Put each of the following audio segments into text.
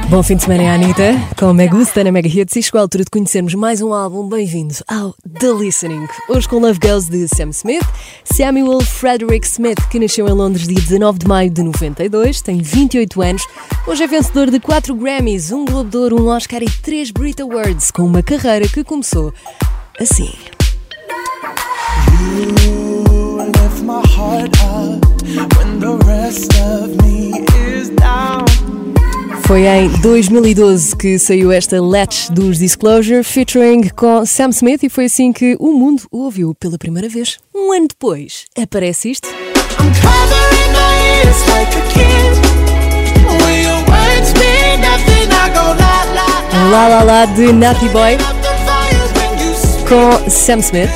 Bom fim de semana, Anitta, com Mega Gusta na Mega Hits, e chegou a altura de conhecermos mais um álbum. Bem-vindos ao The Listening. Hoje com Love Girls de Sam Smith, Samuel Frederick Smith, que nasceu em Londres dia 19 de maio de 92, tem 28 anos, hoje é vencedor de 4 Grammys, um Globo de Ouro, um Oscar e 3 Brit Awards, com uma carreira que começou assim. You lift my heart up when the rest of me is down. Foi em 2012 que saiu esta Latch dos Disclosure, featuring com Sam Smith, e foi assim que o mundo o ouviu pela primeira vez. Um ano depois, aparece isto. I'm covering my ears like a kid. When your words mean nothing, I go la la la. La La La de Natty Boy com Sam Smith.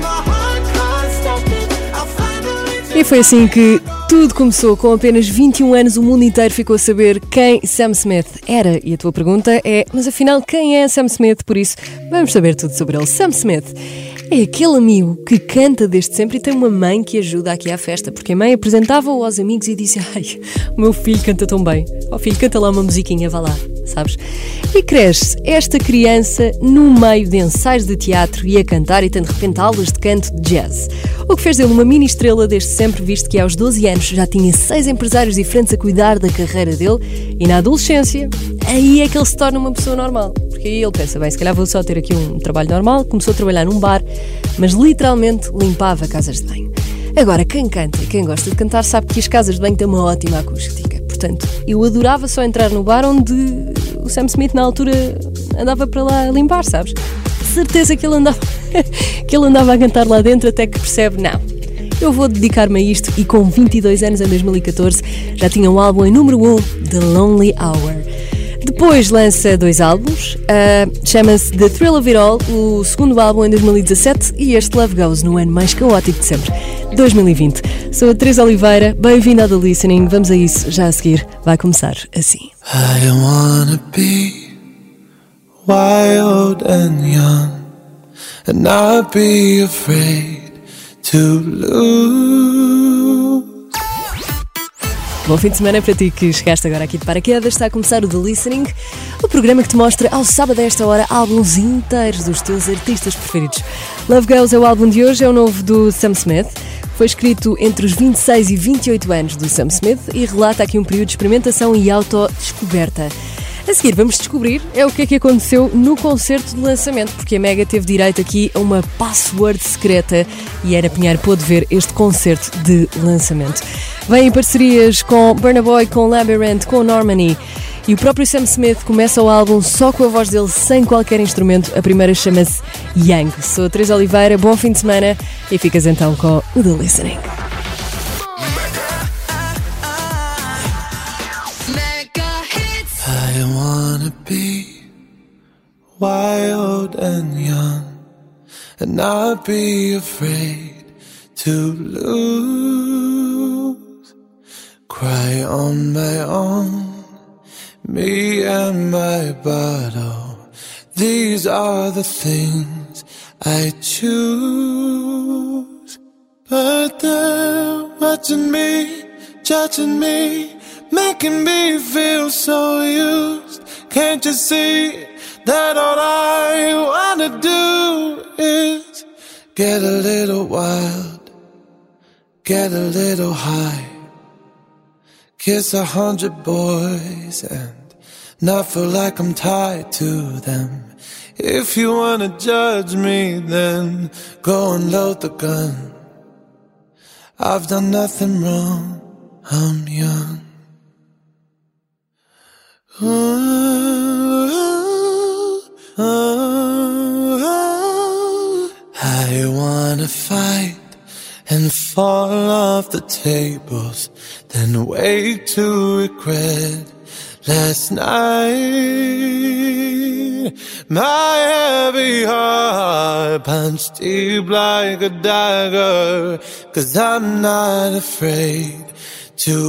E foi assim que tudo começou. Com apenas 21 anos, o mundo inteiro ficou a saber quem Sam Smith era. E a tua pergunta é, mas afinal, quem é Sam Smith? Por isso, vamos saber tudo sobre ele. Sam Smith é aquele amigo que canta desde sempre e tem uma mãe que ajuda aqui à festa, porque a mãe apresentava-o aos amigos e disse: ai, o meu filho canta tão bem. Ó filho, canta lá uma musiquinha, vá lá, sabes? E cresce esta criança no meio de ensaios de teatro e a cantar, e tem de repente aulas de canto de jazz. O que fez dele uma mini estrela desde sempre, visto que aos 12 anos já tinha 6 empresários diferentes a cuidar da carreira dele, e na adolescência, aí é que ele se torna uma pessoa normal. Porque aí ele pensa, bem, se calhar vou só ter aqui um trabalho normal. Começou a trabalhar num bar, mas literalmente limpava casas de banho. Agora, quem canta e quem gosta de cantar sabe que as casas de banho têm uma ótima acústica. Portanto, eu adorava só entrar no bar onde o Sam Smith na altura andava para lá limpar, sabes? Certeza que ele andava a cantar lá dentro, até que percebe, não, eu vou dedicar-me a isto. E com 22 anos, em 2014, já tinha um álbum em número 1, The Lonely Hour. Depois lança 2 álbuns, chama-se The Thrill of It All, o segundo álbum em 2017, e este Love Goes no ano mais caótico de sempre, 2020. Sou a Teresa Oliveira, bem-vinda ao The Listening. Vamos a isso já a seguir, vai começar assim. I wanna be wild and young and not be afraid to lose. Bom fim de semana para ti que chegaste agora aqui de paraquedas. Está a começar o The Listening, o programa que te mostra ao sábado a esta hora álbuns inteiros dos teus artistas preferidos. Love Girls é o álbum de hoje, é o novo do Sam Smith. Foi escrito entre os 26 e 28 anos do Sam Smith e relata aqui um período de experimentação e autodescoberta. A seguir vamos descobrir o que é que aconteceu no concerto de lançamento, porque a Mega teve direito aqui a uma password secreta e Ana Pinheiro pôde ver este concerto de lançamento. Vem em parcerias com Burna Boy, com Labyrinth, com Normani, e o próprio Sam Smith começa o álbum só com a voz dele, sem qualquer instrumento. A primeira chama-se Young. Sou a Teresa Oliveira, bom fim de semana e ficas então com o The Listening. I wanna be wild and young and not be afraid to lose. Cry on my own, me and my bottle. These are the things I choose. But they're watching me, judging me, making me feel so used. Can't you see that all I wanna do is get a little wild, get a little high, kiss 100 boys and not feel like I'm tied to them. If you wanna judge me, then go and load the gun. I've done nothing wrong, I'm young. I wanna fight and fall off the tables, then wake to regret last night. My heavy heart punched deep like a dagger, 'cause I'm not afraid to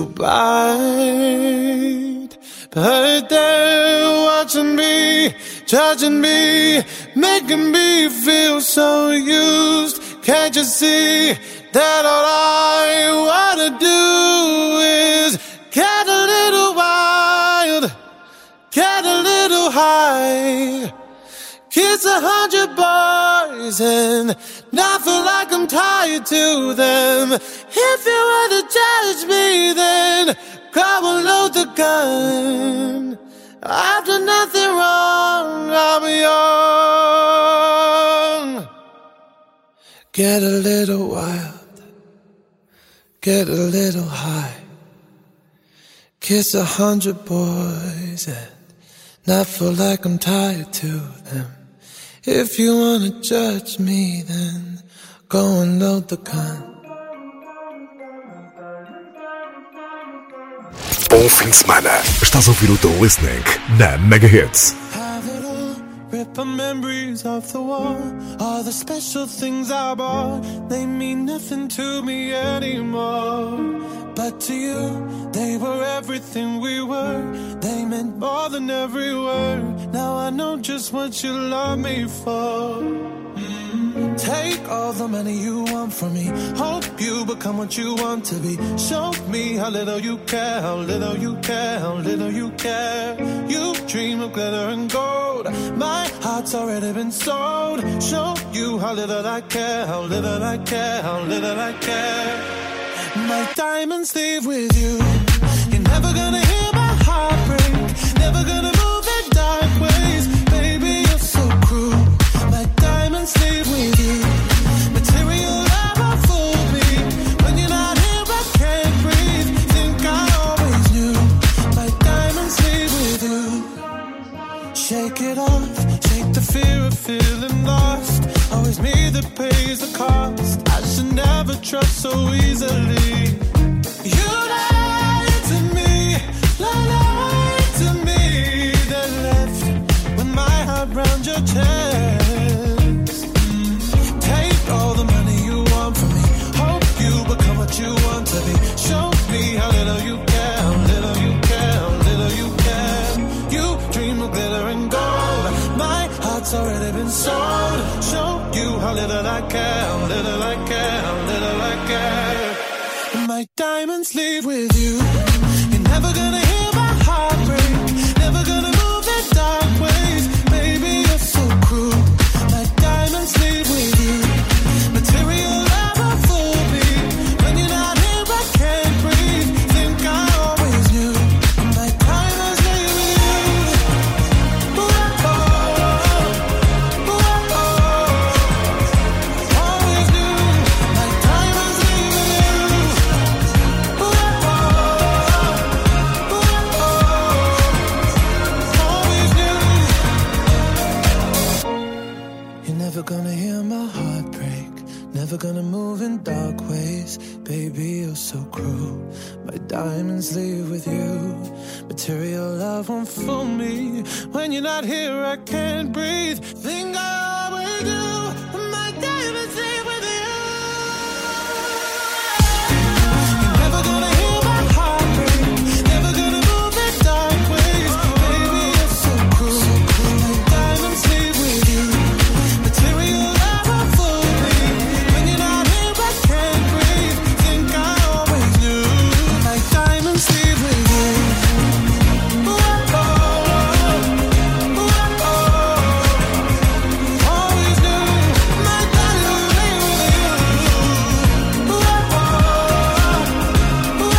bite. But they're watching me, judging me, making me feel so used. Can't you see that all I wanna do is get a little wild, get kiss 100 boys, and not feel like I'm tied to them. If you were to judge me, then grab and load the gun. I've done nothing wrong, I'm young. Get a little wild, get a little high, kiss 100 boys and not feel like I'm tied to them. If you wanna judge me, then go and load the gun. Bom fim de semana. Estás a ouvir o teu listening na Mega Hits. Rip our memories off the wall. All the special things I bought, they mean nothing to me anymore. But to you, they were everything we were. They meant more than every word. Now I know just what you love me for. Take all the money you want from me. Hope you become what you want to be. Show me how little you care, how little you care, how little you care. You dream of glitter and gold. My heart's already been sold. Show you how little I care, how little I care, how little I care. My diamonds leave with you. You're never gonna hear my heart break. Never gonna move in dark ways. Baby, you're so cruel. My diamonds leave with you. Material love will fool me. When you're not here, I can't breathe. Think I always knew. My diamonds leave with you. Shake it off, shake the fear of feeling lost. Always me that pays the cost. I should never trust so easily. You lied to me, lied to me. Then left with my heart round your chest. Take all the money you want from me. Hope you become what you want to be. Show me how little you care, how little you care, how little you care. You dream of glitter and gold. My heart's already been sold. Show you how little I care, how little I care, how little I care. My diamonds leave with you. You're never gonna hear my heart break. Never gonna move in dark ways. Baby, you're so cruel. My diamonds leave with you. Material love will fool me. When you're not here, I can't breathe. Think I always knew. My diamonds leave with you. Ooh, oh, ooh, oh, always knew. My diamonds leave with you. Ooh, oh, always knew. You're never gonna hear my heart break. Never gonna move in dark ways. Baby, you're so cruel. My diamonds leave with you. Material love won't fool me. When you're not here, I can't breathe. Think I always do. My diamonds leave with you. You're never gonna hear my heart break. Never gonna move in dark ways. Baby, you're so cruel. My diamonds leave with you. Material love will fool me. When you're not here, I can't breathe. Think I always knew. My diamonds leave with you. Ooh, oh, ooh, oh, always knew. My diamonds leave with you. Ooh, oh, ooh,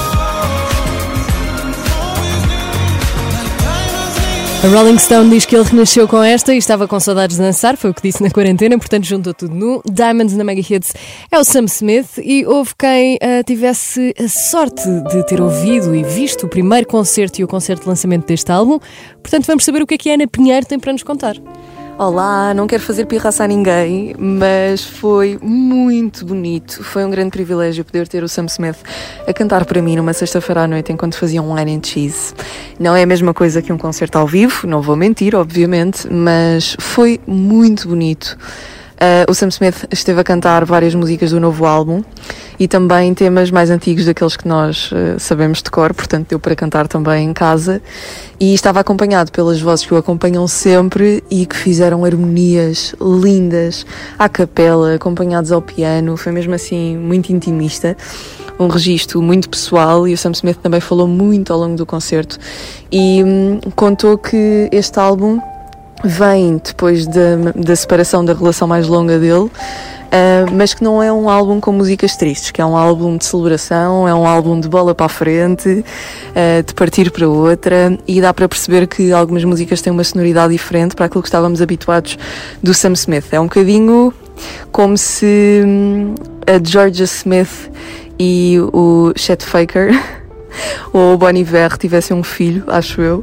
always knew. My diamonds leave with A Rolling Stone diz que ele renasceu com esta e estava com saudades de dançar, foi o que disse na quarentena, portanto juntou tudo no Diamonds na Mega Hits. É o Sam Smith e houve quem tivesse a sorte de ter ouvido e visto o primeiro concerto e o concerto de lançamento deste álbum. Portanto vamos saber o que a Ana Pinheiro tem para nos contar. Olá, não quero fazer pirraça a ninguém, mas foi muito bonito. Foi um grande privilégio poder ter o Sam Smith a cantar para mim numa sexta-feira à noite enquanto fazia um wine and cheese. Não é a mesma coisa que um concerto ao vivo, não vou mentir, obviamente, mas foi muito bonito. O Sam Smith esteve a cantar várias músicas do novo álbum e também temas mais antigos daqueles que nós sabemos de cor, portanto deu para cantar também em casa, e estava acompanhado pelas vozes que o acompanham sempre e que fizeram harmonias lindas à capela, acompanhados ao piano. Foi mesmo assim muito intimista, um registro muito pessoal, e o Sam Smith também falou muito ao longo do concerto e contou que este álbum vem depois da separação, da relação mais longa dele, mas que não é um álbum com músicas tristes, que é um álbum de celebração, é um álbum de bola para a frente, de partir para outra, e dá para perceber que algumas músicas têm uma sonoridade diferente para aquilo que estávamos habituados do Sam Smith. É um bocadinho como se a Georgia Smith e o Chet Faker ou o Bon Iver tivessem um filho, acho eu.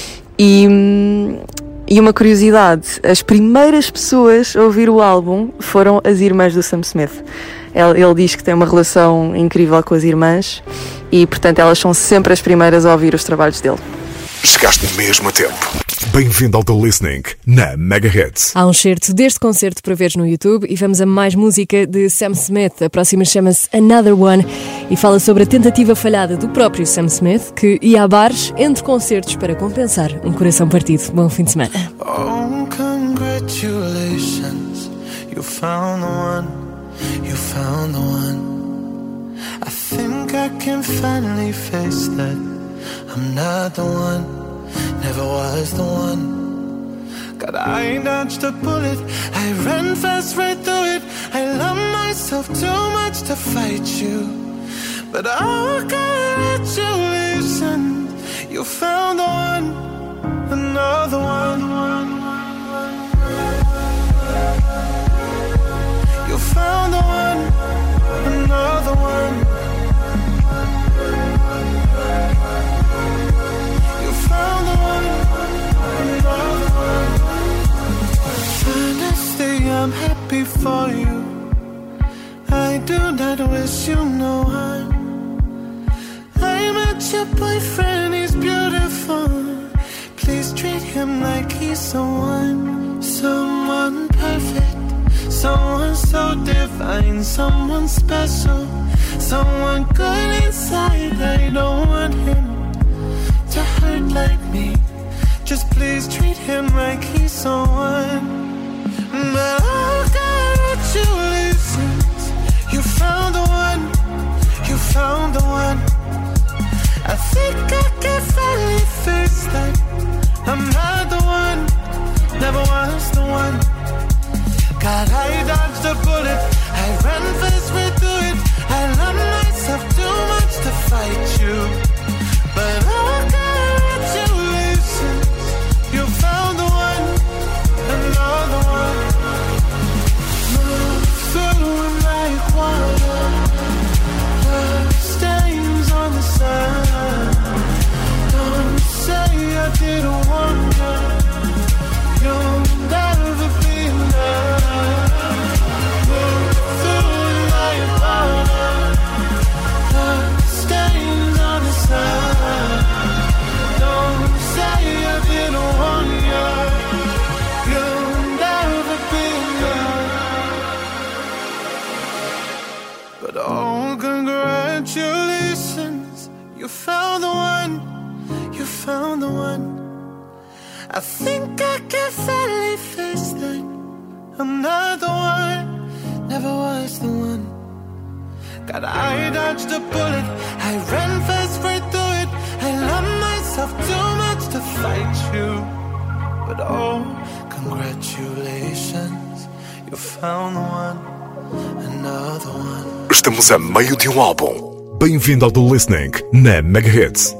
E uma curiosidade, as primeiras pessoas a ouvir o álbum foram as irmãs do Sam Smith. Ele diz que tem uma relação incrível com as irmãs e, portanto, elas são sempre as primeiras a ouvir os trabalhos dele. Chegaste mesmo a tempo. Bem-vindo ao The Listening na Mega Hits. Há um certo deste concerto para veres no YouTube e vamos a mais música de Sam Smith. A próxima chama-se Another One e fala sobre a tentativa falhada do próprio Sam Smith, que ia a bares entre concertos para compensar um coração partido. Bom fim de semana. Oh, congratulations, you found the one, you found the one. I think I can finally face that I'm not the one, never was the one. God, I dodged a bullet, I ran fast right through it. I love myself too much to fight you, but oh, congratulations, you found the one, another one. You found the one, another one. You found the one, another one. Honestly, I'm happy for you. I do not wish you no harm. I met your boyfriend, he's beautiful. Please treat him like he's someone, someone perfect, someone so divine, someone special, someone good inside. I don't want him to hurt like me. Just please treat him like he's someone. But oh, congratulations, you found the one, you found the one. I think I can finally face that I'm not the one, never was the one. God, I dodged a bullet, I ran fast right through it. I love myself too much to fight you, but oh, congratulations, you found the one, another one. Move through like water, blood stains on the sun. Don't say I didn't want you, you'll never be enough. Move through like water, blood stains on the sun. Don't say I didn't want you, you'll never be enough. But oh, congratulations, you found the one, you found the one. I think I can finally face that I'm not the one, never was the one. God, I dodged a bullet, I ran fast right through it. I love myself too much to fight you, but oh, congratulations, you found the one, another one. Estamos a meio de um álbum. Bem-vindo ao The Listening na Mega Hits.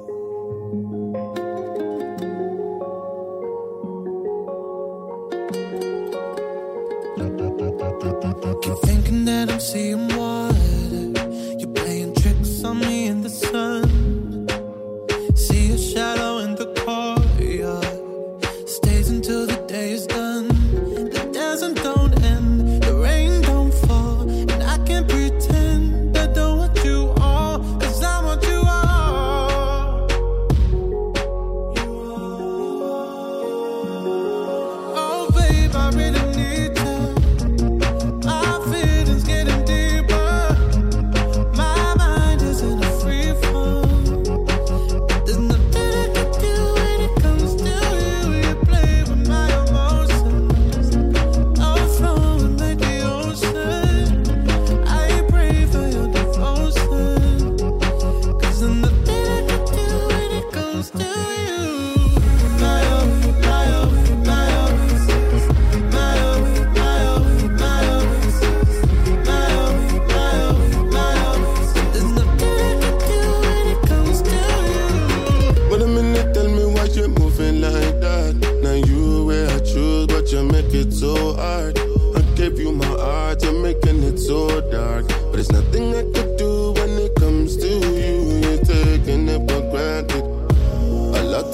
Keep thinking that I'm seeing water. You're playing tricks on me in the sun. See a shadow in the courtyard. Stays until the day is done. The dancing don't end, the rain don't fall, and I can't pretend I don't want you all, 'cause I want you all.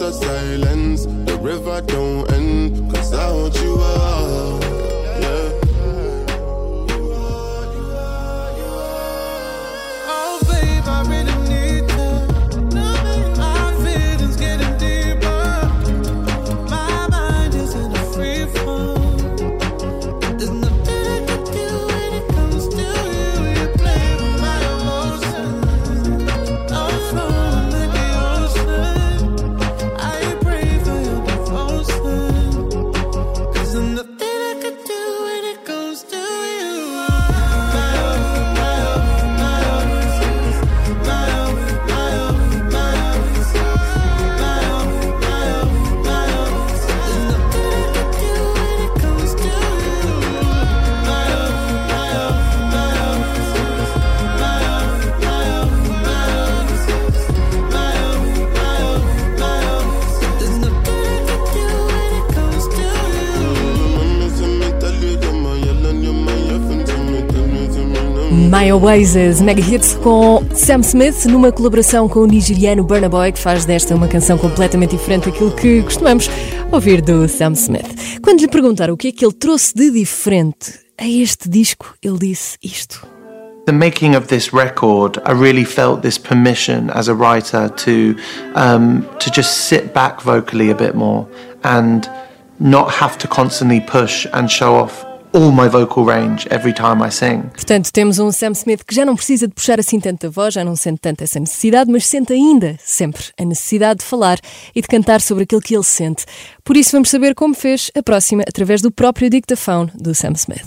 your silence. The river don't end, 'cause I want you all, yeah. Oh babe, I really need you. My feelings getting deeper. My mind is in a free fall. There's nothing I can do when it comes to you. You play with my emotions. I'm flowing like the ocean. I pray for your devotion. 'Cause there's nothing I can do when it comes to you. My oh, my oh, my oh. My oh, my oh, my oh. My oh, my oh, my oh. There's nothing I can do when it comes to you. My oh, my oh, my oh. My oh, my oh, my oh. My oh, my oh, my oh. There's nothing I can do when it comes to you. My Oasis, Mega Hits com Sam Smith, numa colaboração com o nigeriano Burna Boy, que faz desta uma canção completamente diferente daquilo que costumamos ouvir do Sam Smith. Quando lhe perguntaram o que é que ele trouxe de diferente a este disco, ele disse isto. The making of this record, I really felt this permission as a writer to just sit back vocally a bit more and not have to constantly push and show off all my vocal range every time I sing. Portanto, temos um Sam Smith que já não precisa de puxar assim tanto a voz, já não sente tanto essa necessidade, mas sente ainda, sempre, a necessidade de falar e de cantar sobre aquilo que ele sente. Por isso vamos saber como fez a próxima através do próprio dictaphone do Sam Smith.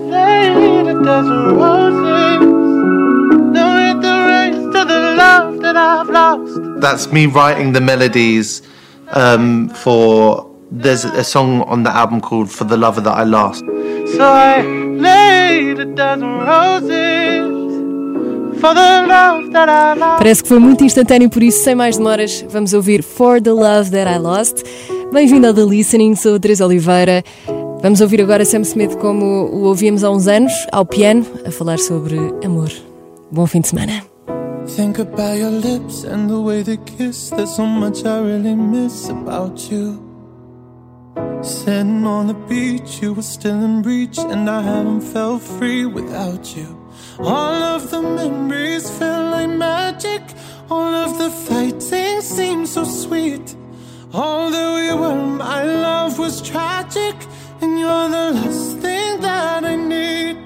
That's me writing the melodies for... There's a song on the album called For the Lover That I Lost. So I laid a dozen roses for the love that I lost. Parece que foi muito instantâneo, por isso, sem mais demoras, vamos ouvir For the Love That I Lost. Bem-vindo ao The Listening, sou a Teresa Oliveira. Vamos ouvir agora Sam Smith como o ouvíamos há uns anos, ao piano, a falar sobre amor. Bom fim de semana. Think about your lips and the way they kiss. There's so much I really miss about you. Sitting on the beach, you were still in reach, and I haven't felt free without you. All of the memories feel like magic. All of the fighting seems so sweet. All that we were, my love was tragic, and you're the last thing that I need.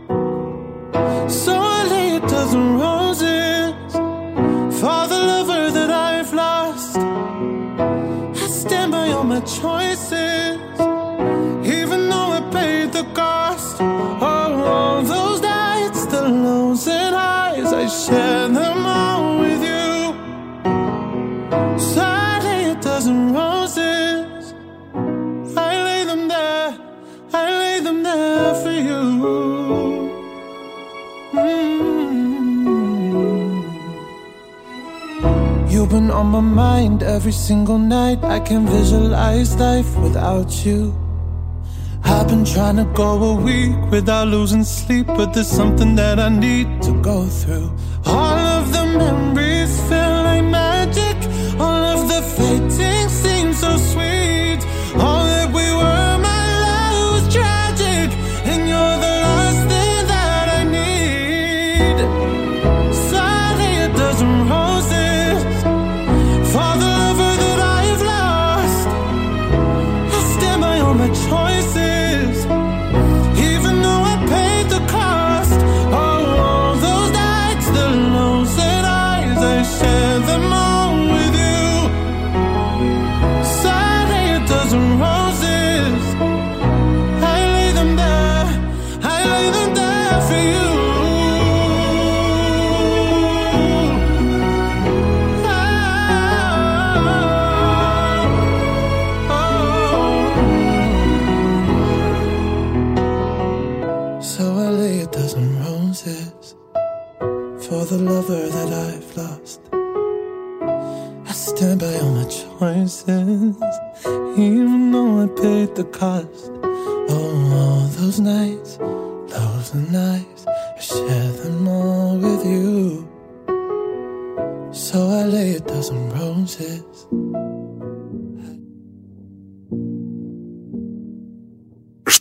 So I lay a dozen roses for the lover that I've lost. I stand by all my choices, even though I paid the cost. Oh, all those nights, the lows and highs, I share them all with you. So I lay a dozen roses, I lay them there for you. You've been on my mind every single night. I can visualize life without you. I've been trying to go a week without losing sleep, but there's something that I need to go through. All of the memories feel like magic. All of the fighting seems so sweet. All that we were, my love was tragic, and you're the last thing that I need. So I lay a dozen roses for the lover that I've lost. I stand by all my choices, even though I paid the cost. Oh, all those nights, the lows and highs, I share them all with you. So I lay a dozen roses, I lay them there for you. So I lay a dozen roses for the lover that I've lost. I stand by all my choices, even though I paid the cost. Oh, all those nights, lows and nights, I share them all with you. So I lay a dozen roses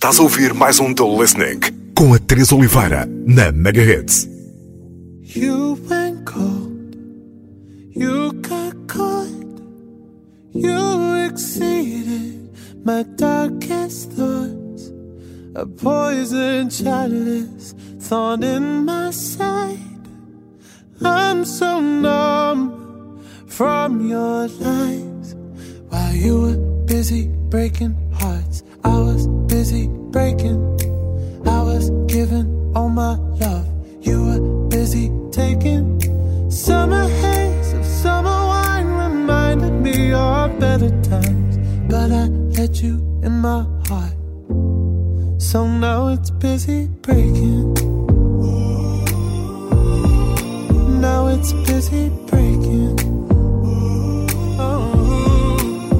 Estás a ouvir mais um The Listening com a Teresa Oliveira na Megahits. You went cold, you got caught, you exceeded my darkest thoughts. A poison chalice, thorn in my side. I'm so numb from your lies. While you were busy breaking hearts, I was busy breaking. I was giving all my love, you were busy taking. Summer haze of summer wine reminded me of better times, but I let you in my heart, so now it's busy breaking. Now it's busy breaking. Oh,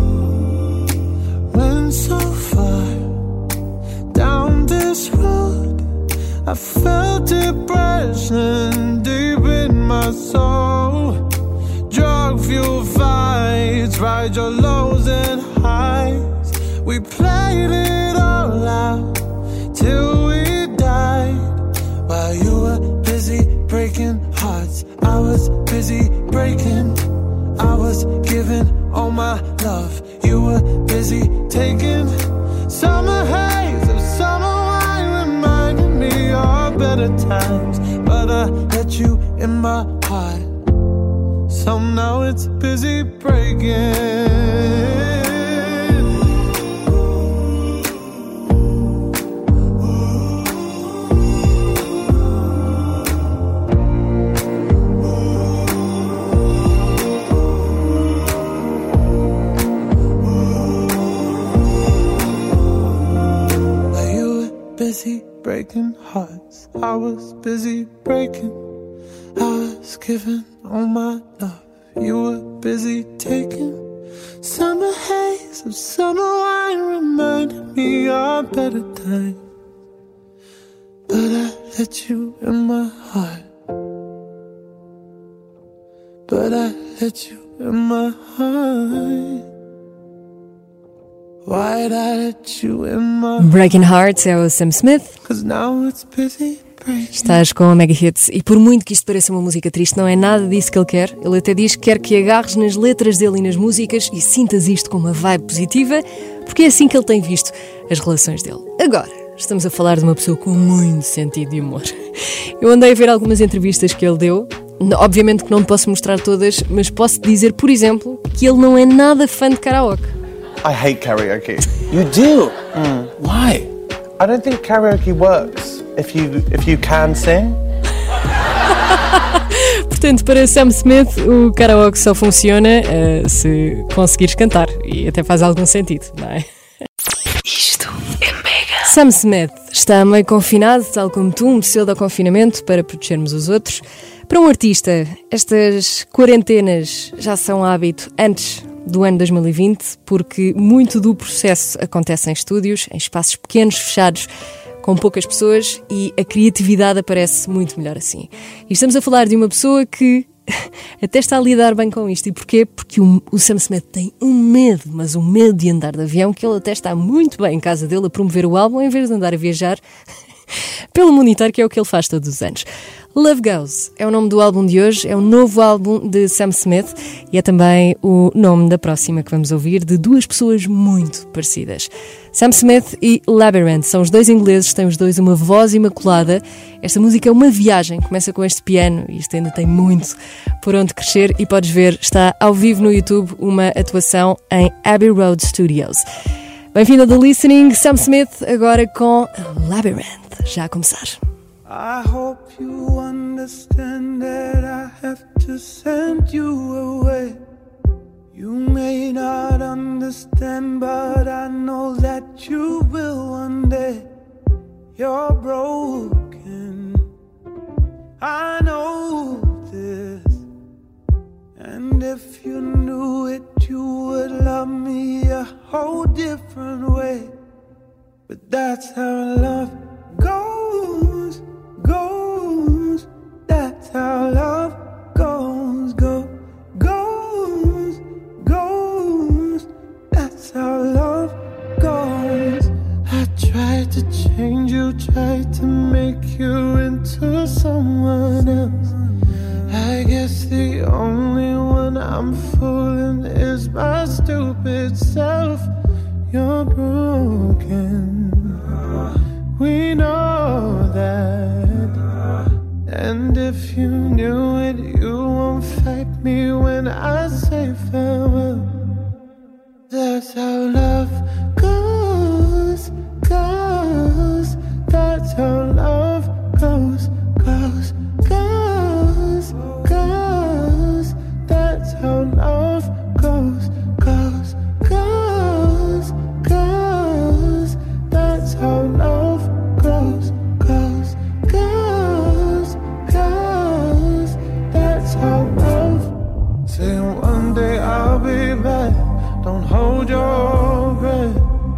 went so far down this road, I felt depression deep in my soul. Drug fuel fights, ride your lows and highs. We played it all out till we died. While you were busy breaking hearts, I was busy breaking. I was giving all my love, you were busy taking. Summer haze of summer wine reminded me of better times, but I let you in my heart, so now it's busy breaking. Busy breaking hearts, I was busy breaking. I was giving all my love, you were busy taking. Summer haze of summer wine reminded me of better times, but I let you in my heart, but I let you in my heart. Why'd I let you in my Breaking Hearts é o Sam Smith. 'Cause now it's busy breaking. Estás com a Mega Hits e por muito que isto pareça uma música triste, não é nada disso que ele quer. Ele até diz que quer que agarres nas letras dele e nas músicas e sintas isto com uma vibe positiva, porque é assim que ele tem visto as relações dele. Agora, estamos a falar de uma pessoa com muito sentido de humor. Eu andei a ver algumas entrevistas que ele deu. Obviamente que não te posso mostrar todas, mas posso dizer, por exemplo, que ele não é nada fã de karaoke. I hate karaoke. You do? Why? I don't think karaoke works if you can sing. Portanto, para Sam Smith, o karaoke só funciona se conseguires cantar. E até faz algum sentido, não é? Isto é Mega. Sam Smith está meio confinado, tal como tu, um pseudo-confinamento para protegermos os outros. Para um artista, estas quarentenas já são hábito antes do ano 2020, porque muito do processo acontece em estúdios, em espaços pequenos, fechados, com poucas pessoas, e a criatividade aparece muito melhor assim. E estamos a falar de uma pessoa que até está a lidar bem com isto. E porquê? Porque o Sam Smith tem um medo, mas um medo de andar de avião, que ele até está muito bem em casa dele a promover o álbum, em vez de andar a viajar pelo mundo inteiro, que é o que ele faz todos os anos. Love Goes é o nome do álbum de hoje, é o novo álbum de Sam Smith e é também o nome da próxima que vamos ouvir, de duas pessoas muito parecidas. Sam Smith e Labyrinth são os dois ingleses, têm os dois uma voz imaculada. Esta música é uma viagem, começa com este piano e isto ainda tem muito por onde crescer e podes ver, está ao vivo no YouTube uma atuação em Abbey Road Studios. Bem-vindo ao The Listening, Sam Smith agora com Labyrinth, já a começar. I hope you understand that I have to send you away. You may not understand, but I know that you will one day. You're broken, I know this. And if you knew it, you would love me a whole different way. But that's how love goes. That's how love goes. That's how love goes. I tried to itself. You're broken. We know that. And if you knew it, you won't fight me when I say farewell. That's how love goes, goes. That's how love goes, goes, goes, goes. That's how love goes, goes, goes, goes. That's how love goes, goes, goes, goes. That's how love. Say one day I'll be back. Don't hold your breath.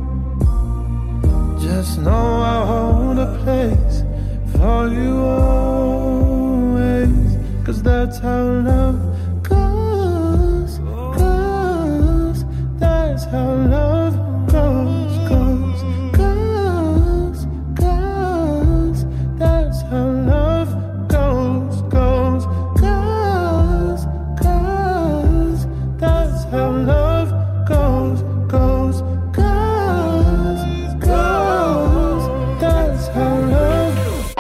Just know I'll hold a place for you always. 'Cause that's how love goes, goes. That's how love goes, goes, goes, goes. That's how love goes, goes, goes, goes. That's how love goes, goes, goes, goes. That's how love goes.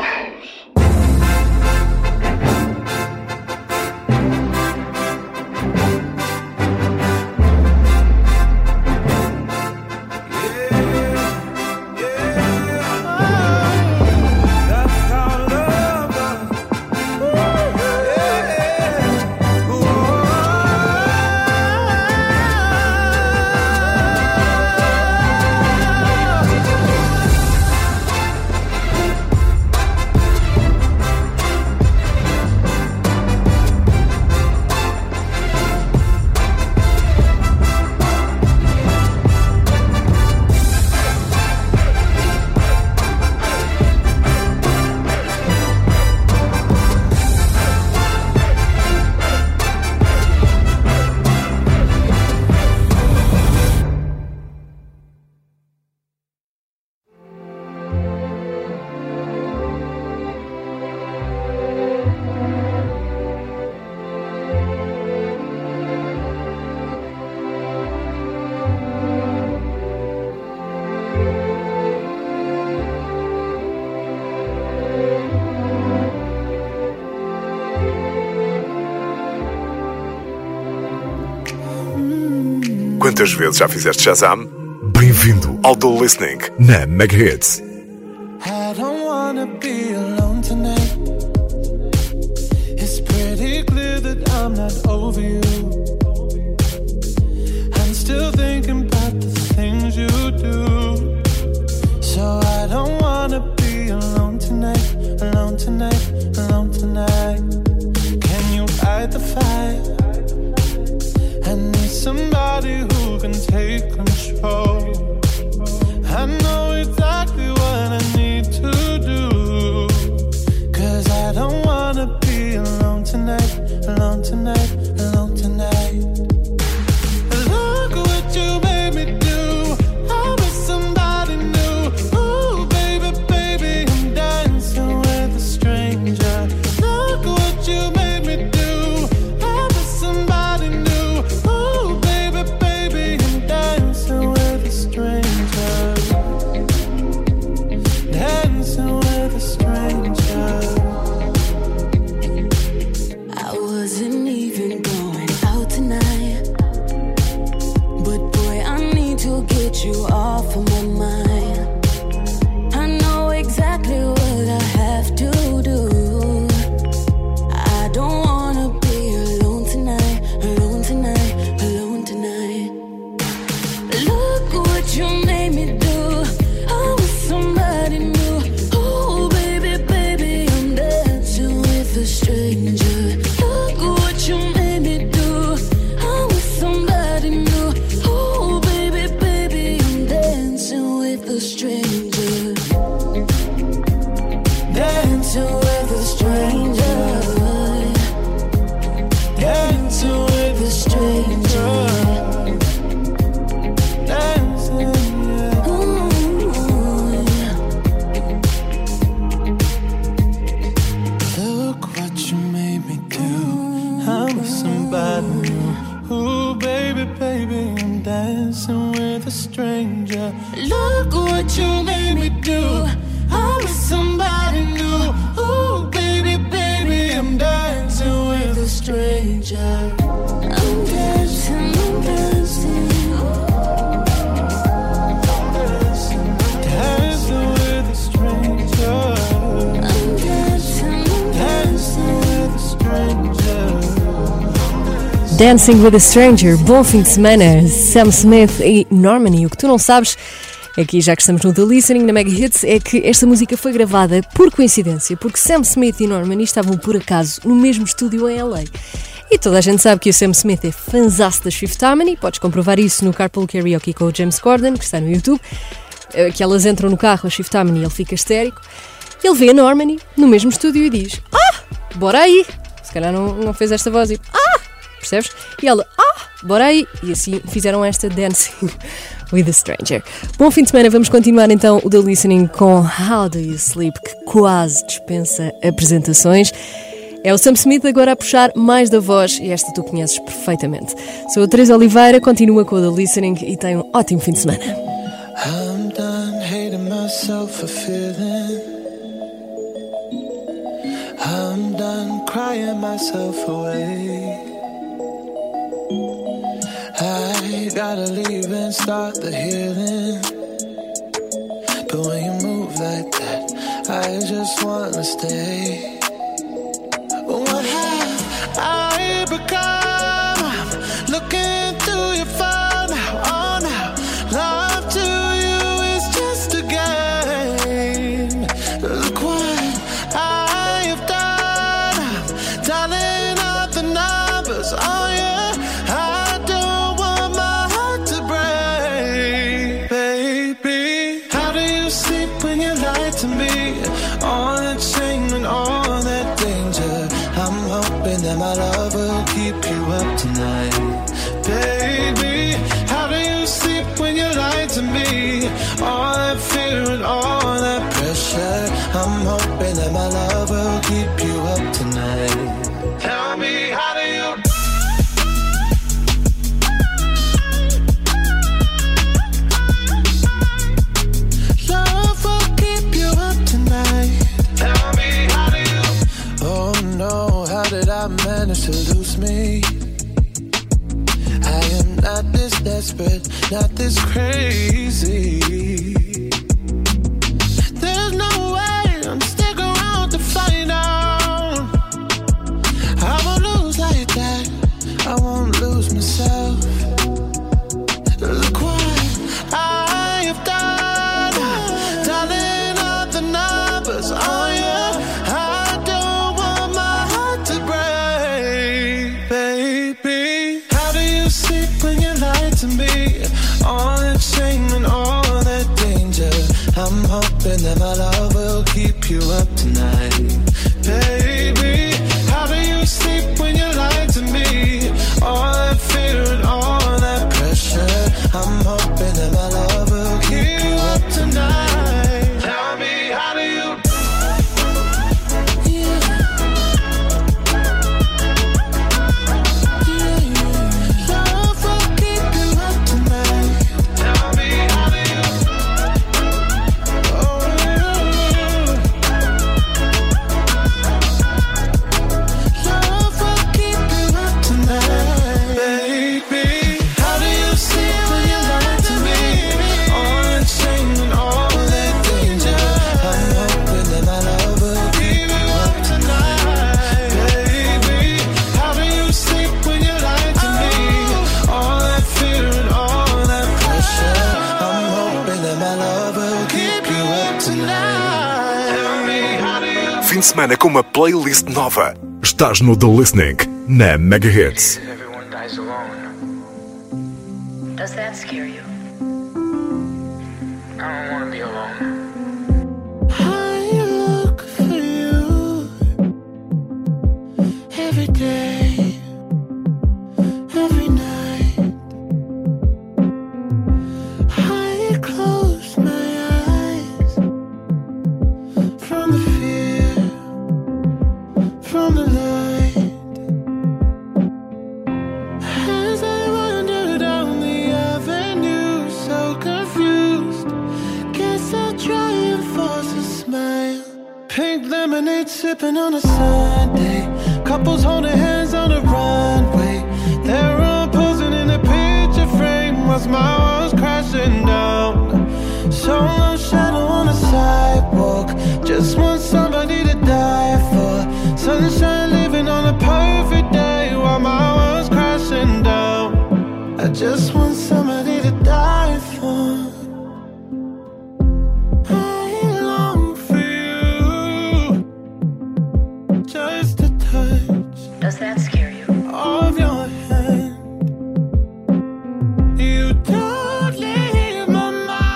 Quantas vezes já fizeste Shazam? Bem-vindo ao The Listening na Mega Hits. I don't wanna be alone tonight. It's pretty clear that I'm not over you. I'm still thinking about the things you do. So I don't wanna be alone tonight, alone tonight, alone tonight. Can you light the fire? I need somebody who can take control. I know exactly what I need to do. 'Cause I don't wanna be alone tonight, alone tonight, alone tonight. Look what you made me do. I'm with somebody new. Ooh, baby, baby, I'm dancing with a stranger. Look what you made me do. I'm with somebody new. Ooh, baby, baby, I'm dancing with a stranger. Dancing with a stranger. I wasn't even going out tonight, but boy, I need to get you off of my mind. I know exactly what I have to do. I don't wanna be alone tonight, alone tonight, alone tonight. Look what you made me do. I'm with somebody new. Oh, baby, baby, I'm dancing with a stranger. Look what you made me do. I'm with somebody new. Oh, baby, baby, I'm dancing with a stranger. Dancing with a stranger. Dancing with a stranger. Dancing, yeah. Ooh, dancing with a stranger. Look what you made me do. I'm with somebody new. Ooh, baby, baby, I'm dancing with a stranger. I'm dancing, I'm dancing. Dancing with a stranger. I'm dancing, dancing with a stranger. Dancing with a Stranger, bom fim de semana, Sam Smith e Normani. O que tu não sabes, aqui já que estamos no The Listening, na Mega Hits, é que esta música foi gravada por coincidência, porque Sam Smith e Normani estavam por acaso no mesmo estúdio em LA. E toda a gente sabe que o Sam Smith é fanzaço das Fifth Harmony, podes comprovar isso no Carpool Karaoke com o James Corden, que está no YouTube, que elas entram no carro, a Fifth Harmony, e ele fica histérico. Ele vê a Normani no mesmo estúdio e diz: bora aí! Se calhar não fez esta voz e percebes? E ela, bora aí! E assim fizeram esta Dancing with a Stranger. Bom fim de semana, vamos continuar então o The Listening com How Do You Sleep, que quase dispensa apresentações. É o Sam Smith agora a puxar mais da voz e esta tu conheces perfeitamente. Sou a Teresa Oliveira, continua com o The Listening e tem um ótimo fim de semana. I'm done hating myself for feeling. I'm done crying myself away. I gotta leave and start the healing. But when you move like that, I just wanna stay. What have I become? I'm looking through your phone now, oh now. Love to you is just a game. Look what I have done. I'm dialing up the numbers, oh yeah. That my love will keep you up tonight. Baby, how do you sleep when you lie to me? All that fear and all that pressure. I'm hoping that my love will keep you up tonight. Tell me, how do you? Love will keep you up tonight. Tell me, how do you? Oh no, how did I manage to lose me? I am not this desperate, not this crazy. There's no way I'm sticking around to find out. I won't lose like that, I won't lose myself. Look what I have done, dialing up the numbers, oh yeah. All that shame and all that danger. I'm hoping that my love will keep you up tonight. Baby, how do you sleep when you lie to me? All that fear and all that pressure. I'm hoping that my love will keep you up tonight. Tell me, how do you? Fim de semana com uma playlist nova. Estás no The Listening, na Mega Hits. Everyone dies alone. Does that scare you? I don't want to be alone. I look for you every day, every night. I close my eyes from the fear, from the light. As I wander down the avenue, Pink lemonade sipping on a Sunday. Couples holding hands on the runway. They're all posing in a picture frame whilst my world's crashing down. Solo shadow on the sidewalk. Just want somebody to die for. Sunshine living on a perfect day while my world's crashing down. I just want somebody to die for. I long for you. Just a touch. Does that scare you? Of your hand. You don't leave my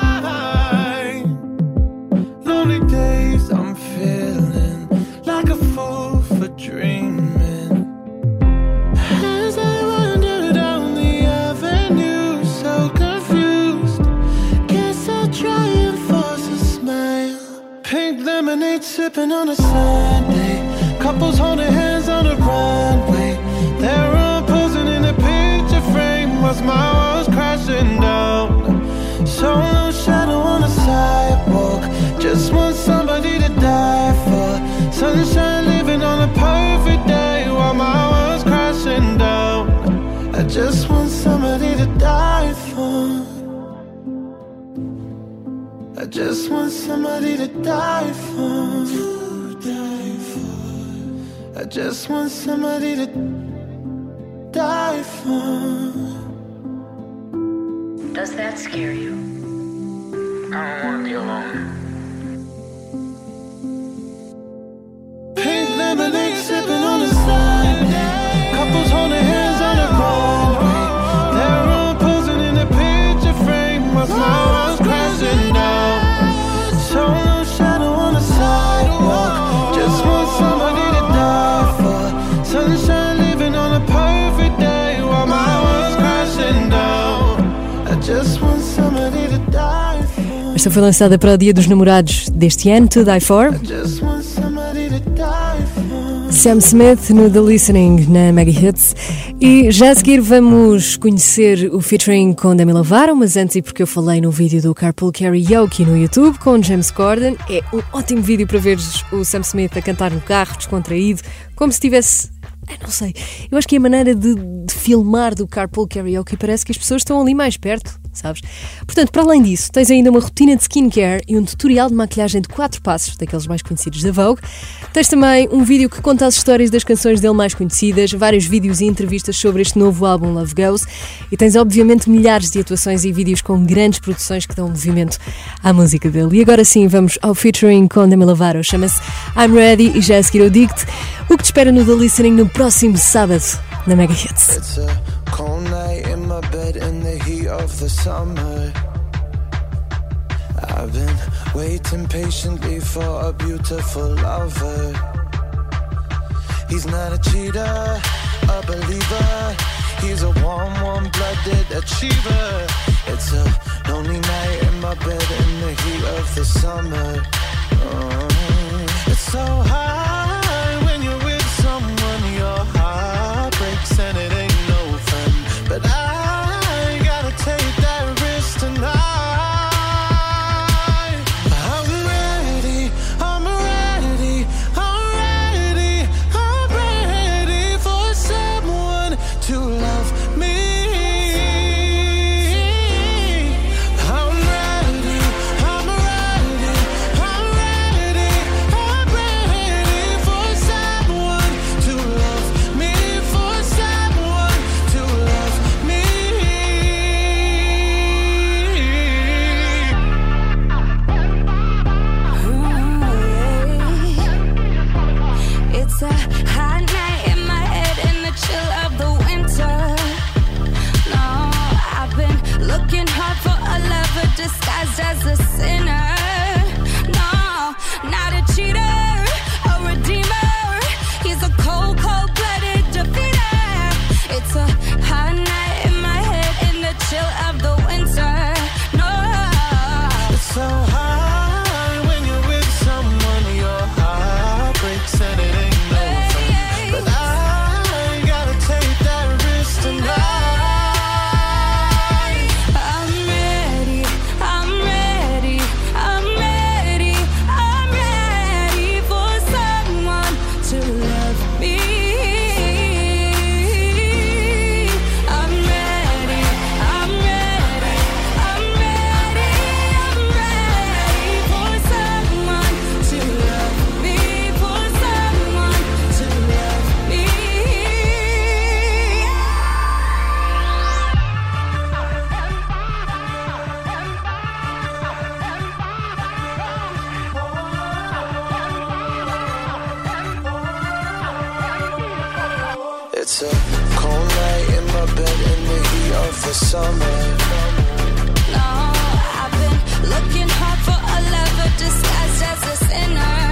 mind. Lonely days I'm feeling like a fool for dreaming. As I wander down the avenue, so confused. Guess I'll try and force a smile. Pink lemonade sipping on a Sunday. Couples holding hands on the runway. They're all posing in a picture frame whilst my world's crashing down. Solo shadow on the sidewalk. Just want somebody to die for. Sunshine living on a perfect day while my world's crashing down. I just want somebody to die for. I just want somebody to die for. I just want somebody to die for. Does that scare you? I don't want to be alone. Pink lemonade sipping on the side. Couples holding hands on the runway. They're all posing in a picture frame whilst my world's crashing down. Solo shadow on the sidewalk. Just want somebody to die for. Sunshine living on a perfect day while my world's crashing down. I just want somebody to die for. Esta foi lançada para o Dia dos Namorados deste ano, To Die For. I just want somebody to die for. Sam Smith no The Listening na Mega Hits. E já a seguir vamos conhecer o featuring com Demi Lovato, mas antes, e porque eu falei no vídeo do Carpool Karaoke no YouTube com James Corden, é um ótimo vídeo para veres o Sam Smith a cantar no carro, descontraído, como se tivesse... não sei, eu acho que é a maneira de filmar do Carpool Karaoke parece que as pessoas estão ali mais perto, sabes? Portanto, para além disso, tens ainda uma rotina de skincare e um tutorial de maquilhagem de 4 passos, daqueles mais conhecidos da Vogue. Tens também um vídeo que conta as histórias das canções dele mais conhecidas, vários vídeos e entrevistas sobre este novo álbum Love Goes, e tens obviamente milhares de atuações e vídeos com grandes produções que dão movimento à música dele. E agora sim, vamos ao featuring com Demi Lovato, chama-se I'm Ready, e já a seguir eu digo-te o que te espera no The Listening no próximo sábado na Mega Hits. It's a cold night in my bed in the heat of the summer. I've been waiting patiently for a beautiful lover. He's not a cheater, a believer. He's a warm-blooded achiever. It's a lonely night in my bed in the heat of the summer. It's so high when you're with someone, your heart breaks and it ain't no fun. But I gotta take that risk tonight. I'm ready, I'm ready, I'm ready, I'm ready for someone to love me. I'm ready, I'm ready, I'm ready, I'm ready for someone to love me, for someone to love me. It's a hot night in my head in the chill of the winter. No, I've been looking hard for a lover disguised as a sinner. No, not a cheater, a redeemer. He's a cold, cold-blooded defeater. It's a hot night in my head in the chill of the winter. No, It's so high when you're with someone, your heart breaks and it ain't no fun. But I gotta take that risk tonight. I'm ready, I'm ready, I'm It's a cold night in my bed in the heat of the summer. No, I've been looking hard for a lover disguised as a sinner.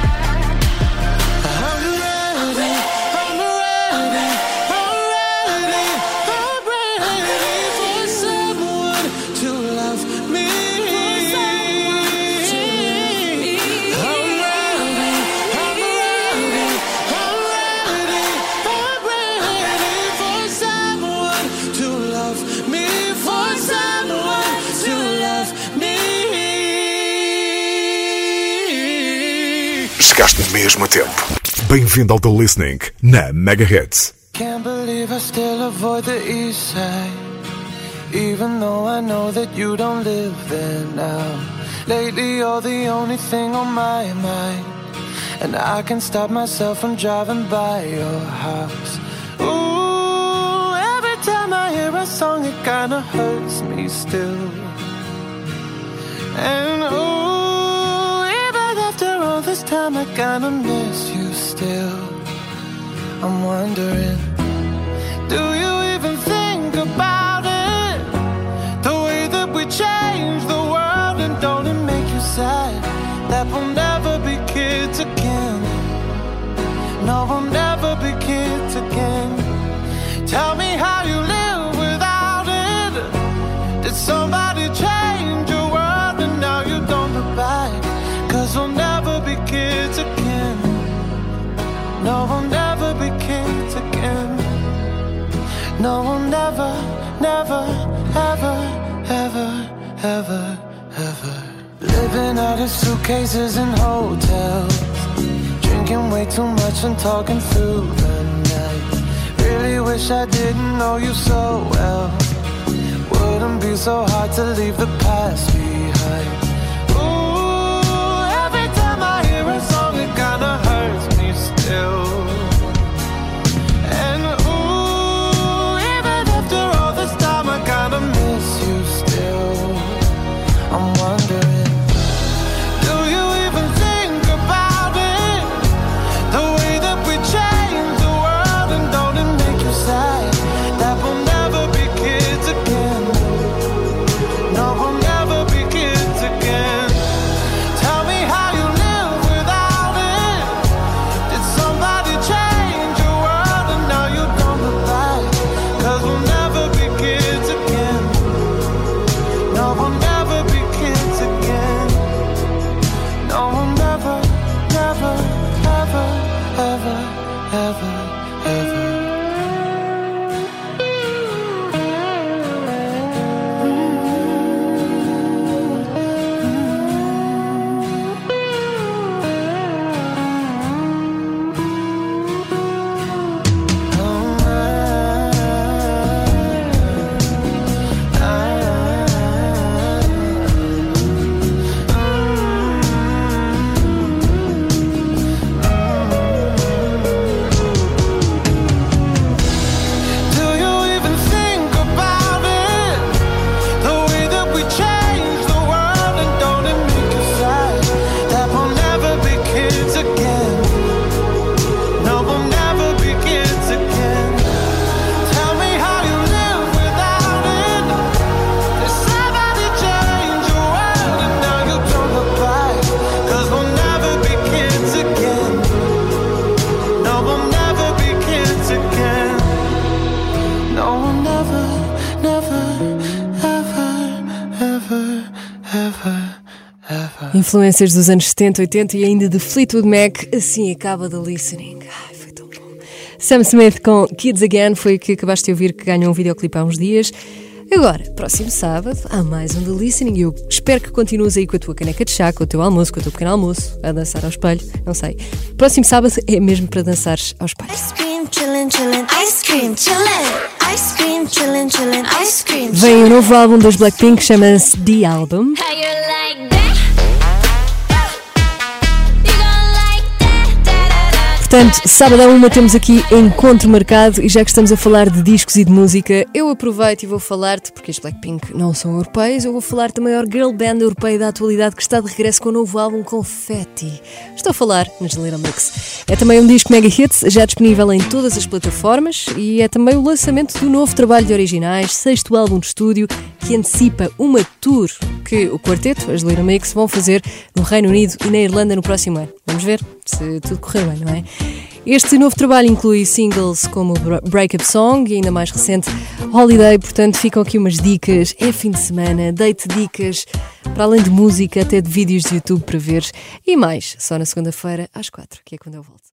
Chegaste mesmo a tempo. Bem-vindo ao The Listening na Mega Hits. Can't believe I still avoid the east side, even though I know that you don't live there now. Lately you're the only thing on my mind, and I can't stop myself from driving by your house. Ooh, every time I hear a song it kinda hurts me still. And ooh, even after all this time I kinda miss you still. I'm wondering, do you even think about it? The way that we change the world, and don't it make you sad that we'll never be kids again? No, we'll never be kids again. Tell me how you live without it. Did somebody change your world and now you don't look back? 'Cause we'll never be kids again. No, we'll never be kids again. No, we'll never, never, ever, ever, ever, ever. Living out of suitcases in hotels, drinking way too much and talking through the night. Really wish I didn't know you so well. Wouldn't be so hard to leave the past behind. Ooh, every time I hear a song it kinda hurts me still. And ooh, even after all this time I kinda miss you still. I'm wondering, do you even think about it? The way that we change the world, and don't it make you sad that we'll never be kids again? No, we'll never be kids again. Tell me how you live without it. Did somebody change your world and now you don't look back? 'Cause we'll never be kids again. No, we'll never be kids again. No, we'll never, never, ever, ever, ever, ever. Influências dos anos 70, 80 e ainda de Fleetwood Mac, assim acaba The Listening. Ai, foi tão bom. Sam Smith com Kids Again foi o que acabaste de ouvir, que ganhou um videoclipe há uns dias. Agora, próximo sábado, há mais um The Listening e eu espero que continues aí com a tua caneca de chá, com o teu almoço, com o teu pequeno almoço, a dançar ao espelho, não sei. Próximo sábado é mesmo para dançares ao espelho. Ice cream, chillin', chillin', ice cream, chillin', ice cream, chillin', chillin', ice cream. Vem o novo álbum das Blackpink, chama-se The Album. How you like that? Portanto, sábado à 1 temos aqui encontro marcado e já que estamos a falar de discos e de música, eu aproveito e vou falar-te, porque os Blackpink não são europeios, eu vou falar-te da maior girl band europeia da atualidade que está de regresso com o novo álbum Confetti. Estou a falar na Little Mix. É também um disco mega hits, já disponível em todas as plataformas e é também o lançamento do novo trabalho de originais, 6º álbum de estúdio, que antecipa uma tour que o quarteto, as Little Mix, vão fazer no Reino Unido e na Irlanda no próximo ano. Vamos ver se tudo correr bem, não é? Este novo trabalho inclui singles como Breakup Song e ainda mais recente Holiday, portanto ficam aqui umas dicas, é fim de semana, dei-te dicas para além de música, até de vídeos de YouTube para veres e mais, só na segunda-feira às 4, que é quando eu volto.